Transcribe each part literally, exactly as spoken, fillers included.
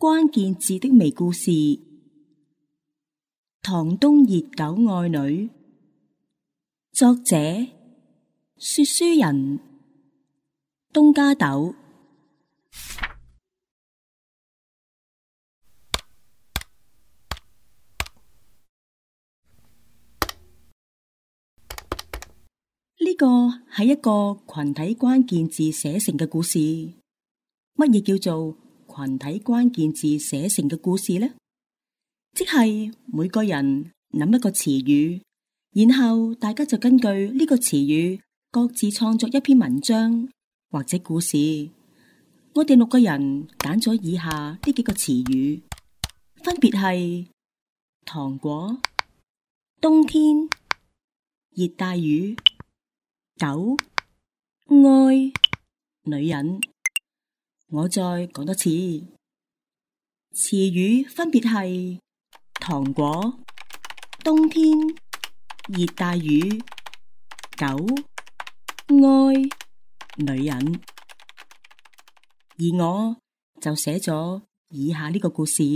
關鍵字的微故事，唐冬熱狗愛女，作者說書人東加豆。呢個係一個群體關鍵字寫成嘅故事。乜嘢叫做群體關鍵字寫成嘅故事呢？即係每個人諗一個詞語，然後大家就根據呢個詞語各自創作一篇文章或者故事。我哋六個人揀咗以下呢幾個詞語，分別係糖果、冬天、熱帶魚、狗、愛、女人。我再講多次，詞語分別係糖果、冬天、熱帶魚、狗、愛、女人。而我就寫咗以下呢個故事。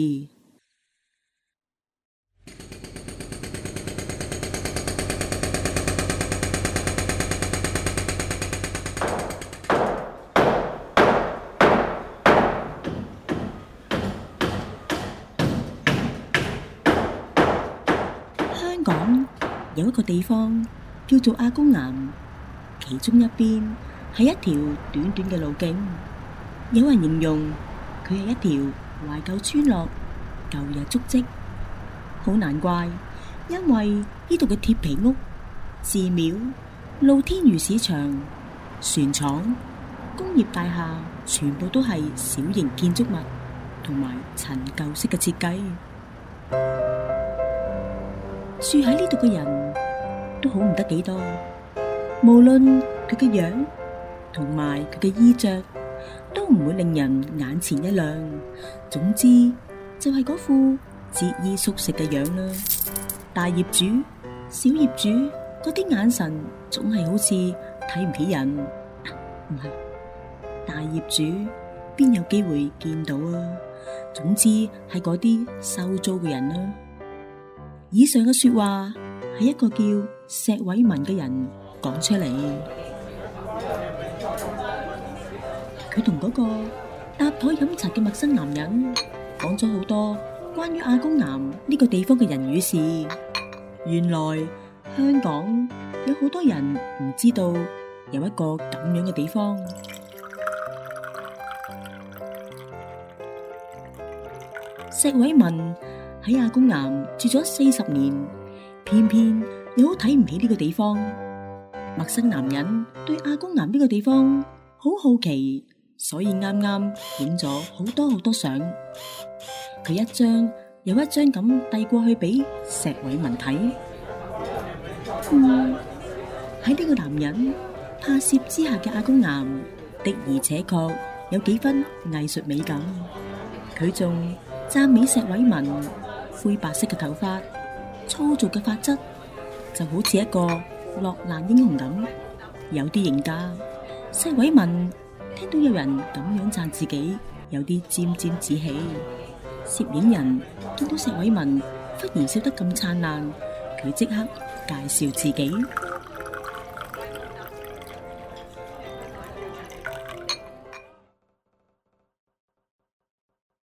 香港有一個地方叫做阿公岩，其中一邊係一條短短嘅路徑。有人形容佢係一條懷舊村落，舊日足跡。好難怪，因為呢度嘅鐵皮屋、寺廟、露天魚市場、船廠、工業大廈全部都係小型建築物同埋陳舊式嘅設計。住喺呢度嘅人都好唔得幾多，無論佢嘅樣同埋佢嘅衣着，都唔會令人眼前一亮。總之就係嗰副節衣縮食嘅樣啦。大業主、小業主嗰啲眼神總係好似睇唔起人。唔係，大業主邊有機會見到啊？總之係嗰啲收租嘅人啦。以上嘅說話係一個叫石偉文嘅人講出嚟。佢同嗰個搭台飲茶嘅陌生男人講咗好多關於阿公岩呢個地方嘅人與事。原來香港有好多人唔知道有一個咁樣嘅地方。石偉文喺阿公岩住咗四十年，偏偏又好睇唔起呢個地方。陌生男人對阿公岩呢個地方好好奇，所以啱啱影咗好多好多相，佢一張又一張咁遞過去俾石偉文睇。嗯，喺呢個男人拍攝之下嘅阿公岩的而且確有幾分藝術美感。佢仲讚美石偉文灰白色嘅頭髮、粗糙嘅髮質，就好似一個落難英雄咁，有啲型㗎。石偉文聽到有人咁樣讚自己，有啲沾沾自喜。攝影人見到石偉文忽然笑得咁燦爛，佢即刻介紹自己。